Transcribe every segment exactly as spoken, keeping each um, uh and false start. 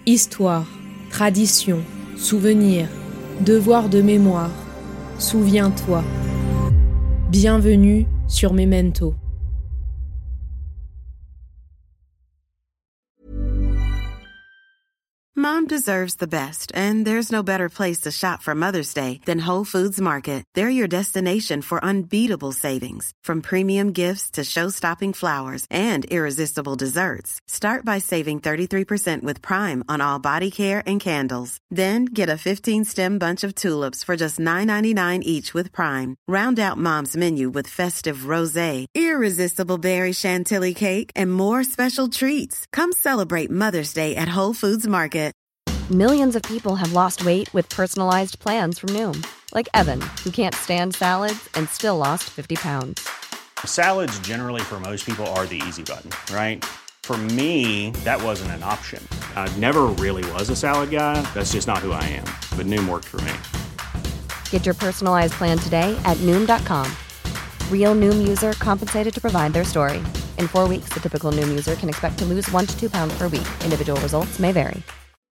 Histoire, tradition, souvenir, devoir de mémoire, souviens-toi. Bienvenue sur Memento. Mom deserves the best, and there's no better place to shop for Mother's Day than Whole Foods Market. They're your destination for unbeatable savings, from premium gifts to show-stopping flowers and irresistible desserts. Start by saving thirty-three percent with Prime on all body care and candles. Then get a fifteen-stem bunch of tulips for just nine ninety-nine each with Prime. Round out Mom's menu with festive rosé, irresistible berry chantilly cake, and more special treats. Come celebrate Mother's Day at Whole Foods Market. Millions of people have lost weight with personalized plans from Noom. Like Evan, who can't stand salads and still lost fifty pounds. Salads generally for most people are the easy button, right? For me, that wasn't an option. I never really was a salad guy. That's just not who I am. But Noom worked for me. Get your personalized plan today at Noom dot com. Real Noom user compensated to provide their story. In four weeks, the typical Noom user can expect to lose one to two pounds per week. Individual results may vary.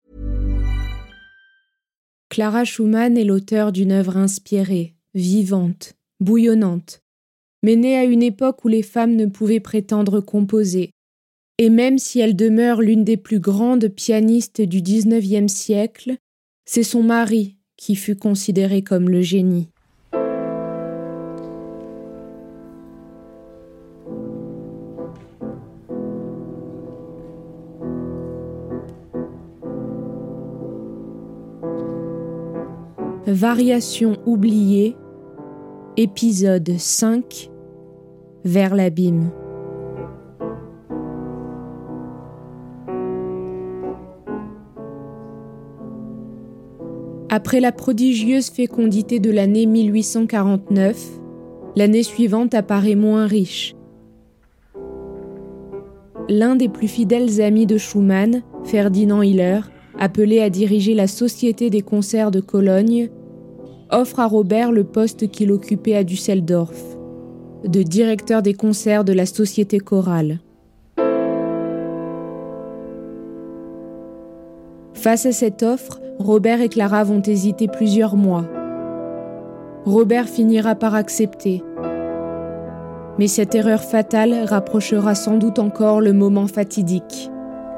Clara Schumann est l'auteure d'une œuvre inspirée, vivante, bouillonnante, mais née à une époque où les femmes ne pouvaient prétendre composer. Et même si elle demeure l'une des plus grandes pianistes du dix-neuvième siècle, c'est son mari qui fut considéré comme le génie. Variation oubliée, épisode cinq, Vers l'abîme. Après la prodigieuse fécondité de l'année mille huit cent quarante-neuf, l'année suivante apparaît moins riche. L'un des plus fidèles amis de Schumann, Ferdinand Hiller, appelé à diriger la Société des concerts de Cologne, offre à Robert le poste qu'il occupait à Düsseldorf, de directeur des concerts de la Société chorale. Face à cette offre, Robert et Clara vont hésiter plusieurs mois. Robert finira par accepter. Mais cette erreur fatale rapprochera sans doute encore le moment fatidique.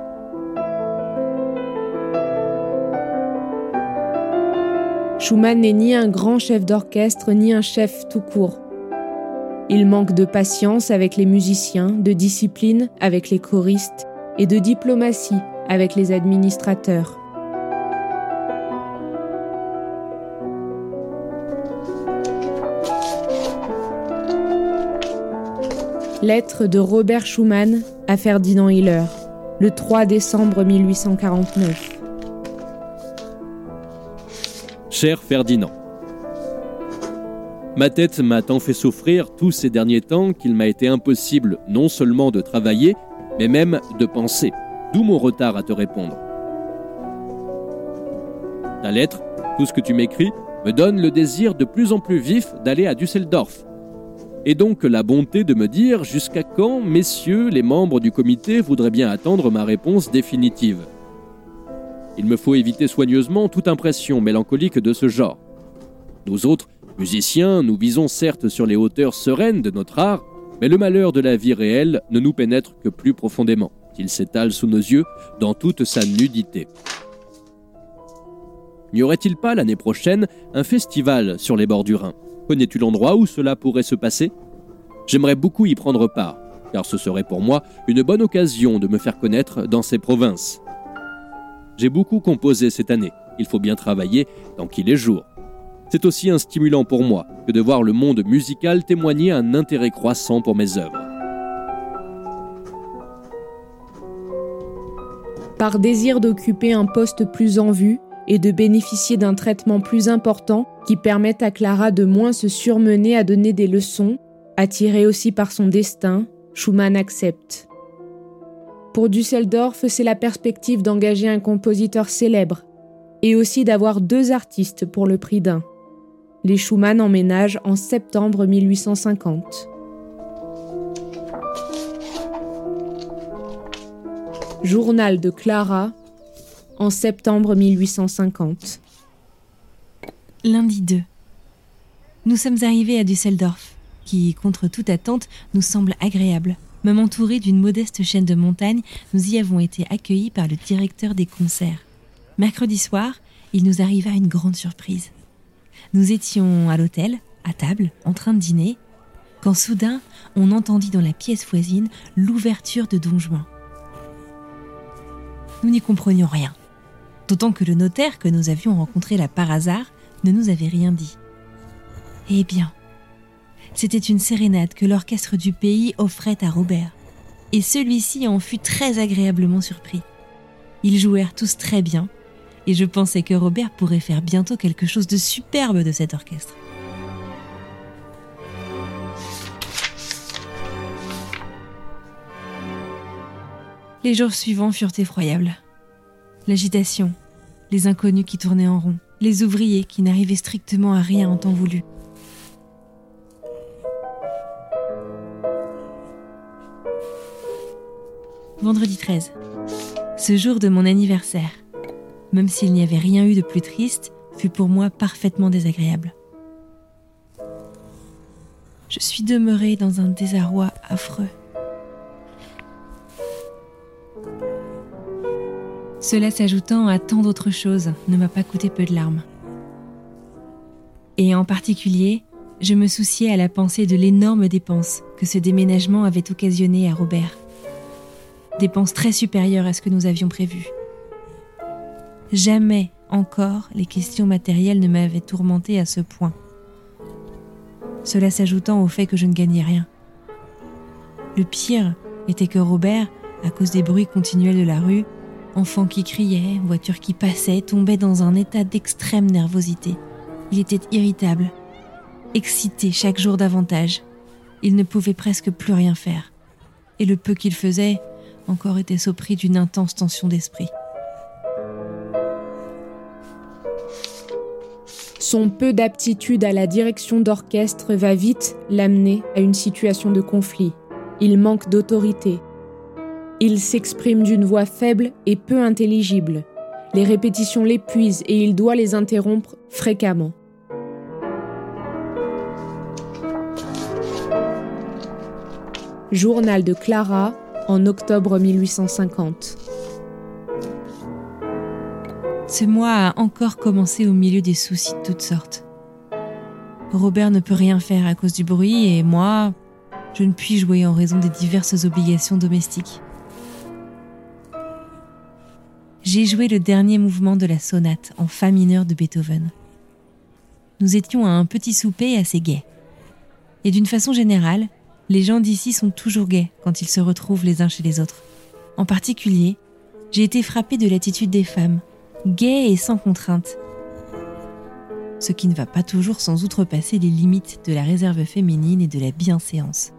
Schumann n'est ni un grand chef d'orchestre, ni un chef tout court. Il manque de patience avec les musiciens, de discipline avec les choristes et de diplomatie avec les administrateurs. Lettre de Robert Schumann à Ferdinand Hiller, le trois décembre mille huit cent quarante-neuf. Cher Ferdinand, ma tête m'a tant fait souffrir tous ces derniers temps qu'il m'a été impossible non seulement de travailler, mais même de penser, d'où mon retard à te répondre. Ta lettre, tout ce que tu m'écris, me donne le désir de plus en plus vif d'aller à Düsseldorf. Et donc la bonté de me dire jusqu'à quand, messieurs, les membres du comité voudraient bien attendre ma réponse définitive. Il me faut éviter soigneusement toute impression mélancolique de ce genre. Nous autres, musiciens, nous visons certes sur les hauteurs sereines de notre art, mais le malheur de la vie réelle ne nous pénètre que plus profondément. Il s'étale sous nos yeux dans toute sa nudité. N'y aurait-il pas l'année prochaine un festival sur les bords du Rhin ? Connais-tu l'endroit où cela pourrait se passer ? J'aimerais beaucoup y prendre part, car ce serait pour moi une bonne occasion de me faire connaître dans ces provinces. J'ai beaucoup composé cette année, il faut bien travailler tant qu'il est jour. C'est aussi un stimulant pour moi que de voir le monde musical témoigner un intérêt croissant pour mes œuvres. Par désir d'occuper un poste plus en vue et de bénéficier d'un traitement plus important qui permette à Clara de moins se surmener à donner des leçons, attirée aussi par son destin, Schumann accepte. Pour Düsseldorf, c'est la perspective d'engager un compositeur célèbre et aussi d'avoir deux artistes pour le prix d'un. Les Schumann emménagent en septembre mille huit cent cinquante. Journal de Clara, en septembre mille huit cent cinquante. Lundi deux. Nous sommes arrivés à Düsseldorf, qui, contre toute attente, nous semble agréable. Même entourés d'une modeste chaîne de montagnes, nous y avons été accueillis par le directeur des concerts. Mercredi soir, il nous arriva une grande surprise. Nous étions à l'hôtel, à table, en train de dîner, quand soudain, on entendit dans la pièce voisine l'ouverture de Don Juan. Nous n'y comprenions rien, d'autant que le notaire que nous avions rencontré là par hasard ne nous avait rien dit. Eh bien, c'était une sérénade que l'orchestre du pays offrait à Robert, et celui-ci en fut très agréablement surpris. Ils jouèrent tous très bien, et je pensais que Robert pourrait faire bientôt quelque chose de superbe de cet orchestre. Les jours suivants furent effroyables. L'agitation, les inconnus qui tournaient en rond, les ouvriers qui n'arrivaient strictement à rien en temps voulu. Vendredi treize. Ce jour de mon anniversaire, même s'il n'y avait rien eu de plus triste, fut pour moi parfaitement désagréable. Je suis demeurée dans un désarroi affreux. Cela s'ajoutant à tant d'autres choses ne m'a pas coûté peu de larmes. Et en particulier, je me souciais à la pensée de l'énorme dépense que ce déménagement avait occasionné à Robert. Dépenses très supérieures à ce que nous avions prévu. Jamais encore les questions matérielles ne m'avaient tourmentée à ce point. Cela s'ajoutant au fait que je ne gagnais rien. Le pire était que Robert, à cause des bruits continuels de la rue, enfants qui criaient, voitures qui passaient, tombait dans un état d'extrême nervosité. Il était irritable, excité chaque jour davantage. Il ne pouvait presque plus rien faire. Et le peu qu'il faisait, encore était-ce au prix d'une intense tension d'esprit. Son peu d'aptitude à la direction d'orchestre va vite l'amener à une situation de conflit. Il manque d'autorité. Il s'exprime d'une voix faible et peu intelligible. Les répétitions l'épuisent et il doit les interrompre fréquemment. Journal de Clara, en octobre mille huit cent cinquante. Ce mois a encore commencé au milieu des soucis de toutes sortes. Robert ne peut rien faire à cause du bruit et moi, je ne puis jouer en raison des diverses obligations domestiques. J'ai joué le dernier mouvement de la sonate en fa mineur de Beethoven. Nous étions à un petit souper assez gai. Et d'une façon générale, les gens d'ici sont toujours gais quand ils se retrouvent les uns chez les autres. En particulier, j'ai été frappée de l'attitude des femmes, gaies et sans contrainte. Ce qui ne va pas toujours sans outrepasser les limites de la réserve féminine et de la bienséance.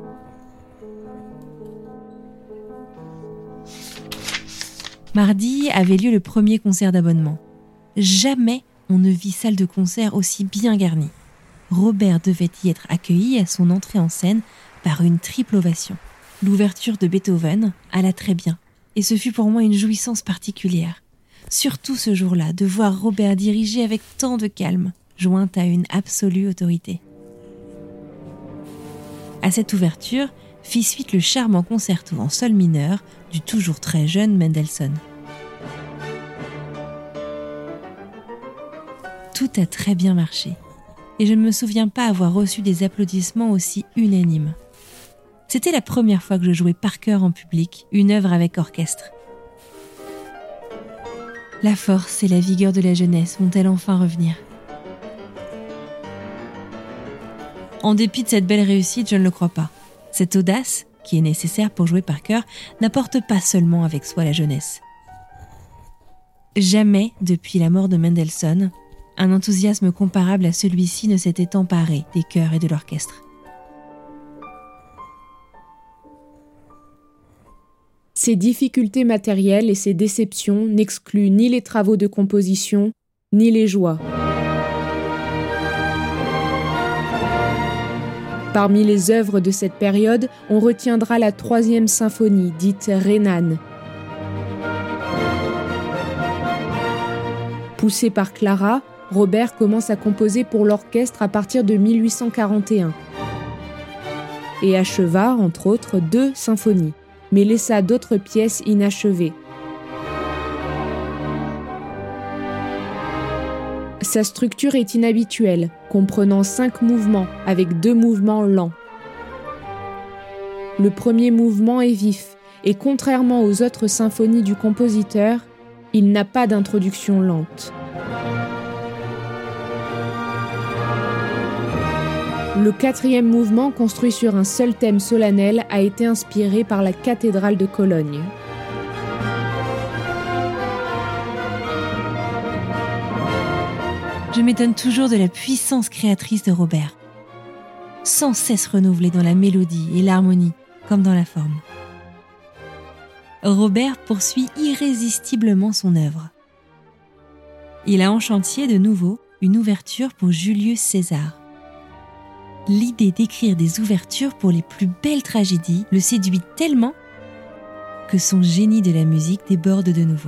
Mardi avait lieu le premier concert d'abonnement. Jamais on ne vit salle de concert aussi bien garnie. Robert devait y être accueilli à son entrée en scène par une triple ovation. L'ouverture de Beethoven alla très bien, et ce fut pour moi une jouissance particulière. Surtout ce jour-là, de voir Robert diriger avec tant de calme, jointe à une absolue autorité. À cette ouverture, fit suite le charmant concerto en sol mineur du toujours très jeune Mendelssohn. Tout a très bien marché, et je ne me souviens pas avoir reçu des applaudissements aussi unanimes. C'était la première fois que je jouais par cœur en public une œuvre avec orchestre. La force et la vigueur de la jeunesse vont-elles enfin revenir ? En dépit de cette belle réussite, je ne le crois pas. Cette audace, qui est nécessaire pour jouer par cœur, n'apporte pas seulement avec soi la jeunesse. Jamais, depuis la mort de Mendelssohn, un enthousiasme comparable à celui-ci ne s'était emparé des chœurs et de l'orchestre. Ces difficultés matérielles et ces déceptions n'excluent ni les travaux de composition, ni les joies. Parmi les œuvres de cette période, on retiendra la troisième symphonie, dite rhénane. Poussé par Clara, Robert commence à composer pour l'orchestre à partir de mille huit cent quarante et un et acheva, entre autres, deux symphonies, mais laissa d'autres pièces inachevées. Sa structure est inhabituelle, comprenant cinq mouvements avec deux mouvements lents. Le premier mouvement est vif, et contrairement aux autres symphonies du compositeur, il n'a pas d'introduction lente. Le quatrième mouvement, construit sur un seul thème solennel, a été inspiré par la cathédrale de Cologne. Je m'étonne toujours de la puissance créatrice de Robert, sans cesse renouvelée dans la mélodie et l'harmonie, comme dans la forme. Robert poursuit irrésistiblement son œuvre. Il a en chantier de nouveau une ouverture pour Julius César. L'idée d'écrire des ouvertures pour les plus belles tragédies le séduit tellement que son génie de la musique déborde de nouveau.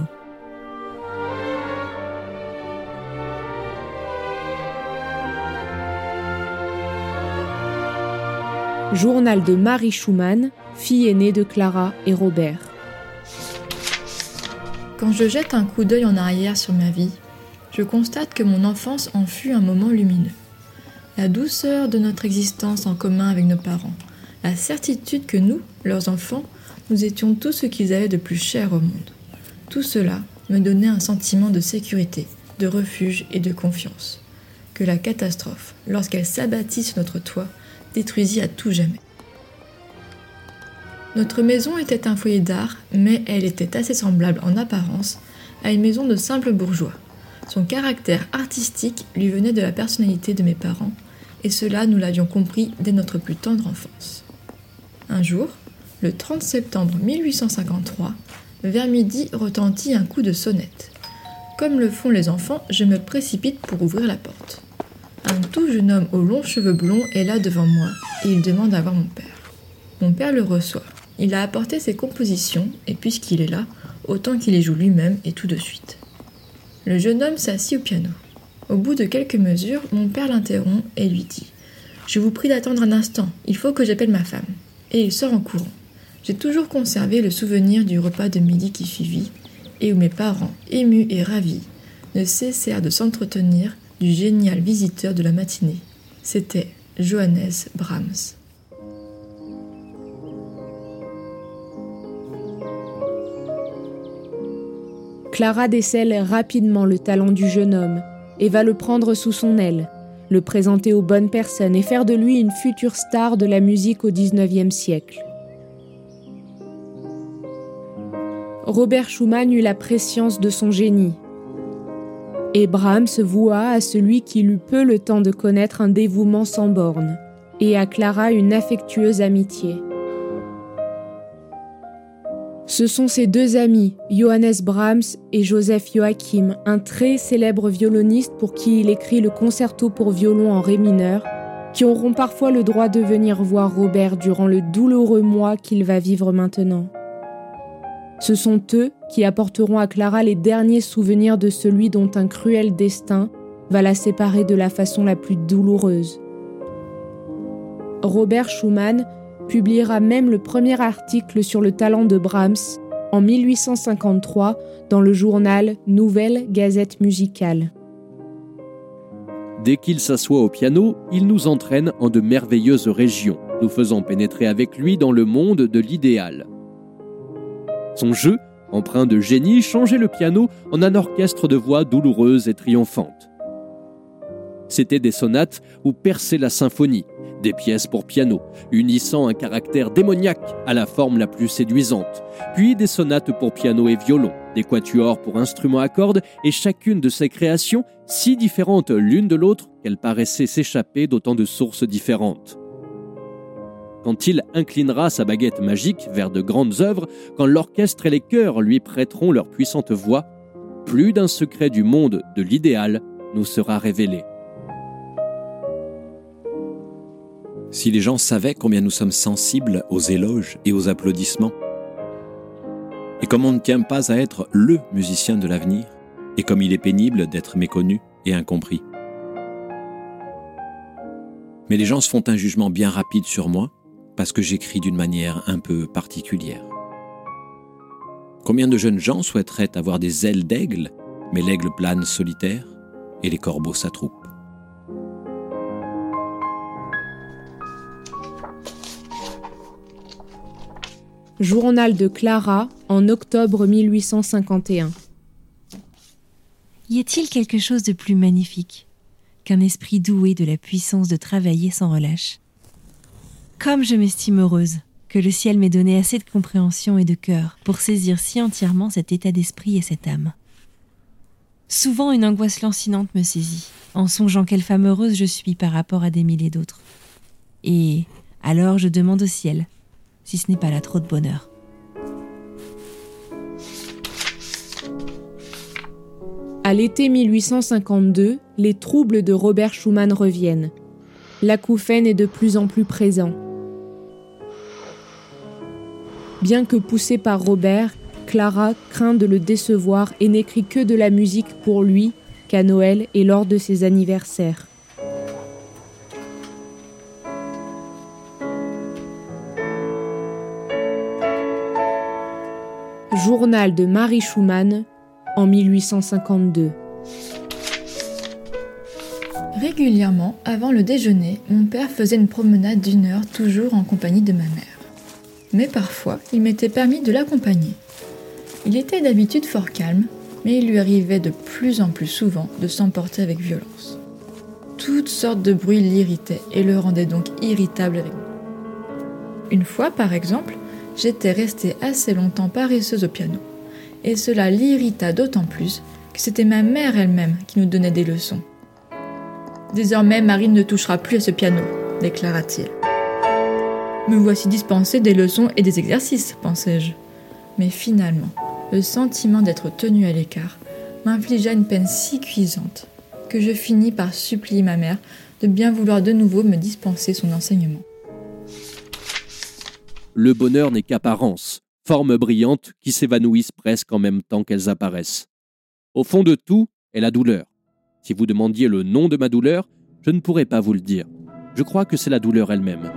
Journal de Marie Schumann, fille aînée de Clara et Robert. Quand je jette un coup d'œil en arrière sur ma vie, je constate que mon enfance en fut un moment lumineux. La douceur de notre existence en commun avec nos parents, la certitude que nous, leurs enfants, nous étions tout ce qu'ils avaient de plus cher au monde. Tout cela me donnait un sentiment de sécurité, de refuge et de confiance. Que la catastrophe, lorsqu'elle s'abattit sur notre toit, détruisit à tout jamais. Notre maison était un foyer d'art, mais elle était assez semblable en apparence à une maison de simples bourgeois. Son caractère artistique lui venait de la personnalité de mes parents, et cela nous l'avions compris dès notre plus tendre enfance. Un jour, le trente septembre mille huit cent cinquante-trois, vers midi retentit un coup de sonnette. Comme le font les enfants, je me précipite pour ouvrir la porte. Un tout jeune homme aux longs cheveux blonds est là devant moi, et il demande à voir mon père. Mon père le reçoit. Il a apporté ses compositions, et puisqu'il est là, autant qu'il les joue lui-même et tout de suite. Le jeune homme s'assit au piano. Au bout de quelques mesures, mon père l'interrompt et lui dit « Je vous prie d'attendre un instant, il faut que j'appelle ma femme. » Et il sort en courant. J'ai toujours conservé le souvenir du repas de midi qui suivit, et où mes parents, émus et ravis, ne cessèrent de s'entretenir du génial visiteur de la matinée. C'était Johannes Brahms. Clara décèle rapidement le talent du jeune homme et va le prendre sous son aile, le présenter aux bonnes personnes et faire de lui une future star de la musique au dix-neuvième siècle. Robert Schumann eut la prescience de son génie. Et Brahms voua à celui qui eut peu le temps de connaître un dévouement sans bornes, et à Clara une affectueuse amitié. Ce sont ses deux amis, Johannes Brahms et Joseph Joachim, un très célèbre violoniste pour qui il écrit le concerto pour violon en ré mineur, qui auront parfois le droit de venir voir Robert durant le douloureux mois qu'il va vivre maintenant. Ce sont eux qui apporteront à Clara les derniers souvenirs de celui dont un cruel destin va la séparer de la façon la plus douloureuse. Robert Schumann publiera même le premier article sur le talent de Brahms en mille huit cent cinquante-trois dans le journal Nouvelle Gazette Musicale. Dès qu'il s'assoit au piano, il nous entraîne en de merveilleuses régions, nous faisant pénétrer avec lui dans le monde de l'idéal. Son jeu, empreint de génie, changeait le piano en un orchestre de voix douloureuses et triomphantes. C'étaient des sonates où perçait la symphonie, des pièces pour piano, unissant un caractère démoniaque à la forme la plus séduisante, puis des sonates pour piano et violon, des quatuors pour instruments à cordes, et chacune de ces créations si différentes l'une de l'autre qu'elles paraissaient s'échapper d'autant de sources différentes. Quand il inclinera sa baguette magique vers de grandes œuvres, quand l'orchestre et les chœurs lui prêteront leur puissante voix, plus d'un secret du monde de l'idéal nous sera révélé. Si les gens savaient combien nous sommes sensibles aux éloges et aux applaudissements, et comme on ne tient pas à être le musicien de l'avenir, Et comme il est pénible d'être méconnu et incompris. Mais les gens se font un jugement bien rapide sur moi parce que j'écris d'une manière un peu particulière. Combien de jeunes gens souhaiteraient avoir des ailes d'aigle, mais l'aigle plane solitaire et les corbeaux s'attroupent. Journal de Clara en octobre mille huit cent cinquante et un. Y a-t-il quelque chose de plus magnifique qu'un esprit doué de la puissance de travailler sans relâche ? Comme je m'estime heureuse que le ciel m'ait donné assez de compréhension et de cœur pour saisir si entièrement cet état d'esprit et cette âme. Souvent une angoisse lancinante me saisit, en songeant quelle femme heureuse je suis par rapport à des milliers d'autres. Et alors je demande au ciel si ce n'est pas là trop de bonheur. À l'été mille huit cent cinquante-deux, les troubles de Robert Schumann reviennent. L'acouphène est de plus en plus présent. Bien que poussée par Robert, Clara craint de le décevoir et n'écrit que de la musique pour lui qu'à Noël et lors de ses anniversaires. Journal de Marie Schumann en mille huit cent cinquante-deux. Régulièrement, avant le déjeuner, mon père faisait une promenade d'une heure, toujours en compagnie de ma mère. Mais parfois, il m'était permis de l'accompagner. Il était d'habitude fort calme, mais il lui arrivait de plus en plus souvent de s'emporter avec violence. Toutes sortes de bruits l'irritaient et le rendaient donc irritable avec moi. Une fois, par exemple, j'étais restée assez longtemps paresseuse au piano, et cela l'irrita d'autant plus que c'était ma mère elle-même qui nous donnait des leçons. « Désormais, Marine ne touchera plus à ce piano », déclara-t-il. « Me voici dispensée des leçons et des exercices », pensai-je. Mais finalement, le sentiment d'être tenue à l'écart m'infligea une peine si cuisante que je finis par supplier ma mère de bien vouloir de nouveau me dispenser son enseignement. Le bonheur n'est qu'apparence, formes brillantes qui s'évanouissent presque en même temps qu'elles apparaissent. Au fond de tout est la douleur. Si vous demandiez le nom de ma douleur, je ne pourrais pas vous le dire. Je crois que c'est la douleur elle-même.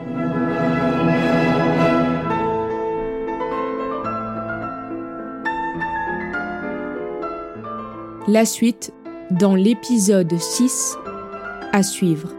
La suite dans l'épisode six à suivre.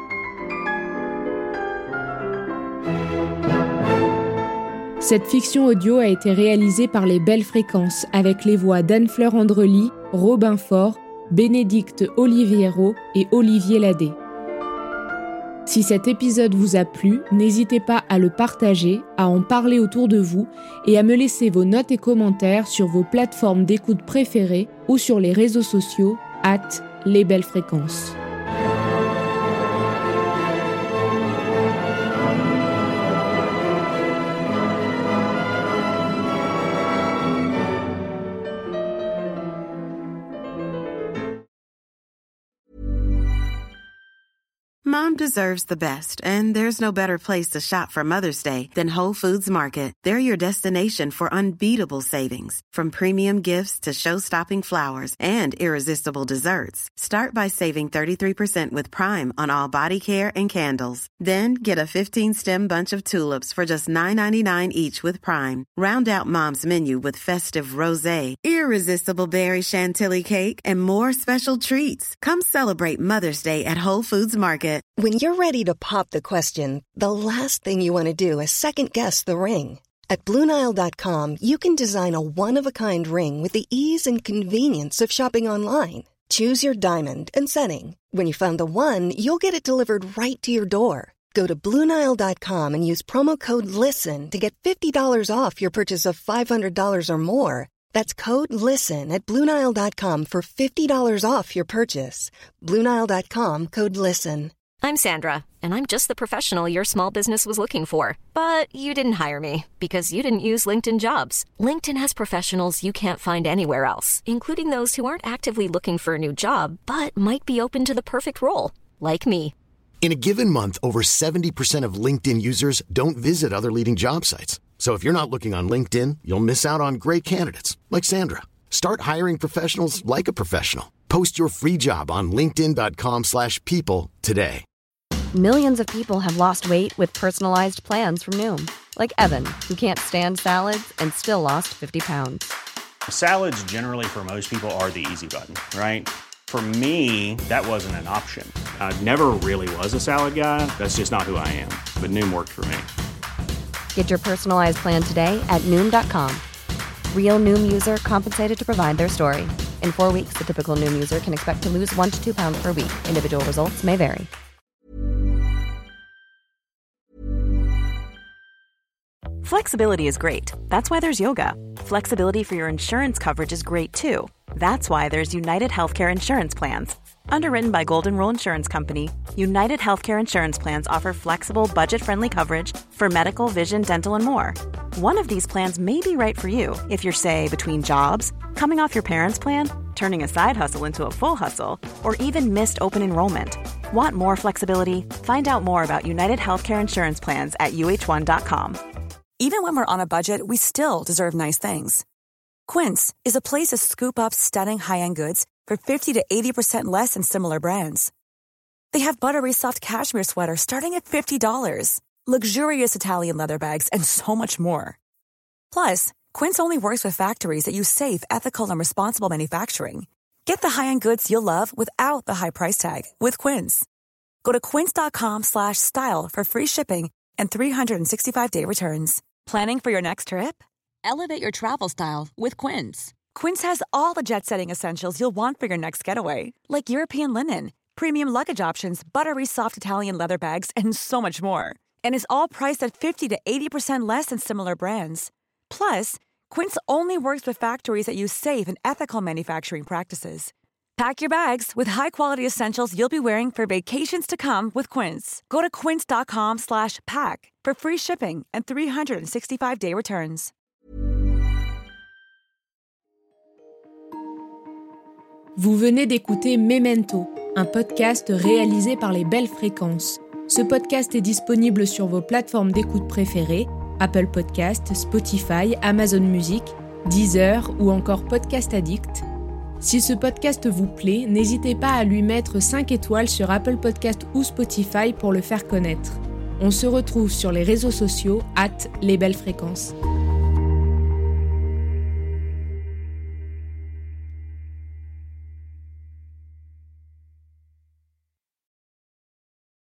Cette fiction audio a été réalisée par les Belles Fréquences avec les voix d'Anne-Fleur Andrely, Robin Faure, Bénédicte Oliviero et Olivier Ladé. Si cet épisode vous a plu, n'hésitez pas à le partager, à en parler autour de vous et à me laisser vos notes et commentaires sur vos plateformes d'écoute préférées ou sur les réseaux sociaux arobase les belles fréquences. Mom deserves the best, and there's no better place to shop for Mother's Day than Whole Foods Market. They're your destination for unbeatable savings, from premium gifts to show-stopping flowers and irresistible desserts. Start by saving thirty-three percent with Prime on all body care and candles. Then get a fifteen-stem bunch of tulips for just nine ninety-nine each with Prime. Round out Mom's menu with festive rosé, irresistible berry chantilly cake, and more special treats. Come celebrate Mother's Day at Whole Foods Market. When you're ready to pop the question, the last thing you want to do is second-guess the ring. At Blue Nile dot com, you can design a one-of-a-kind ring with the ease and convenience of shopping online. Choose your diamond and setting. When you find the one, you'll get it delivered right to your door. Go to Blue Nile dot com and use promo code LISTEN to get fifty dollars off your purchase of five hundred dollars or more. That's code LISTEN at Blue Nile dot com for fifty dollars off your purchase. Blue Nile dot com, code LISTEN. I'm Sandra, and I'm just the professional your small business was looking for. But you didn't hire me because you didn't use LinkedIn Jobs. LinkedIn has professionals you can't find anywhere else, including those who aren't actively looking for a new job, but might be open to the perfect role, like me. In a given month, over seventy percent of LinkedIn users don't visit other leading job sites. So if you're not looking on LinkedIn, you'll miss out on great candidates, like Sandra. Start hiring professionals like a professional. Post your free job on linkedin.com slash people today. Millions of people have lost weight with personalized plans from Noom. Like Evan, who can't stand salads and still lost fifty pounds. Salads generally for most people are the easy button, right? For me, that wasn't an option. I never really was a salad guy. That's just not who I am. But Noom worked for me. Get your personalized plan today at Noom dot com. Real Noom user compensated to provide their story. In four weeks, the typical Noom user can expect to lose one to two pounds per week. Individual results may vary. Flexibility is great. That's why there's yoga. Flexibility for your insurance coverage is great too. That's why there's United Healthcare Insurance Plans. Underwritten by Golden Rule Insurance Company, United Healthcare Insurance Plans offer flexible, budget-friendly coverage for medical, vision, dental, and more. One of these plans may be right for you if you're, say, between jobs, coming off your parents' plan, turning a side hustle into a full hustle, or even missed open enrollment. Want more flexibility? Find out more about United Healthcare Insurance Plans at U H one dot com. Even when we're on a budget, we still deserve nice things. Quince is a place to scoop up stunning high-end goods for fifty to eighty percent less than similar brands. They have buttery soft cashmere sweaters starting at fifty dollars, luxurious Italian leather bags, and so much more. Plus, Quince only works with factories that use safe, ethical, and responsible manufacturing. Get the high-end goods you'll love without the high price tag with Quince. Go to quince.com slash style for free shipping and three sixty-five day returns. Planning for your next trip? Elevate your travel style with Quince. Quince has all the jet-setting essentials you'll want for your next getaway, like European linen, premium luggage options, buttery soft Italian leather bags, and so much more. And is all priced at fifty to eighty percent less than similar brands. Plus, Quince only works with factories that use safe and ethical manufacturing practices. Pack your bags with high-quality essentials you'll be wearing for vacations to come with Quince. Go to quince.com slash pack for free shipping and three sixty-five day returns. Vous venez d'écouter Memento, un podcast réalisé par les Belles Fréquences. Ce podcast est disponible sur vos plateformes d'écoute préférées, Apple Podcasts, Spotify, Amazon Music, Deezer ou encore Podcast Addict. Si ce podcast vous plaît, n'hésitez pas à lui mettre cinq étoiles sur Apple Podcasts ou Spotify pour le faire connaître. On se retrouve sur les réseaux sociaux arobase les belles fréquences.